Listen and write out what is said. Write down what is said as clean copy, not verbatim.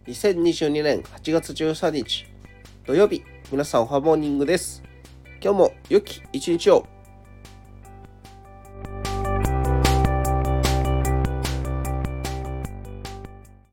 2022年8月13日土曜日、皆さんおはモーニングです。今日も良き一日を。